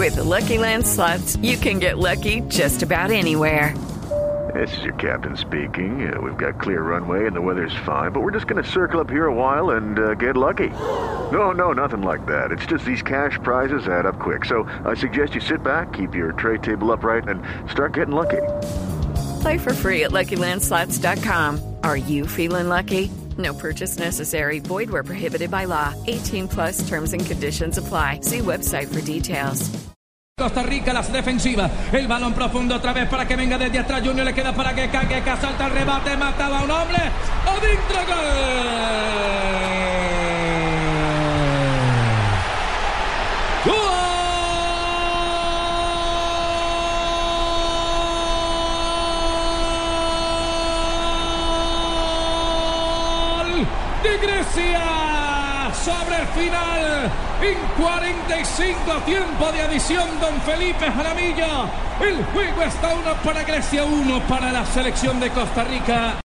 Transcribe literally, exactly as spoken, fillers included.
With the Lucky Land Slots, you can get lucky just about anywhere. This is your captain speaking. Uh, we've got clear runway and the weather's fine, but we're just going to circle up here a while and uh, get lucky. No, no, nothing like that. It's just these cash prizes add up quick. So I suggest you sit back, keep your tray table upright, and start getting lucky. Play for free at Lucky Land Slots dot com. Are you feeling lucky? No purchase necessary. Void where prohibited by law. eighteen plus terms and conditions apply. See website for details. Costa Rica, las defensivas, el balón profundo otra vez para que venga desde atrás. Junior le queda para que cague, que salta el rebate, mataba a un hombre, adentro, gol. ¡Gol de Grecia! Sobre el final, en cuarenta y cinco tiempo de adición, don Felipe Jaramillo. El juego está uno para Grecia, uno para la selección de Costa Rica.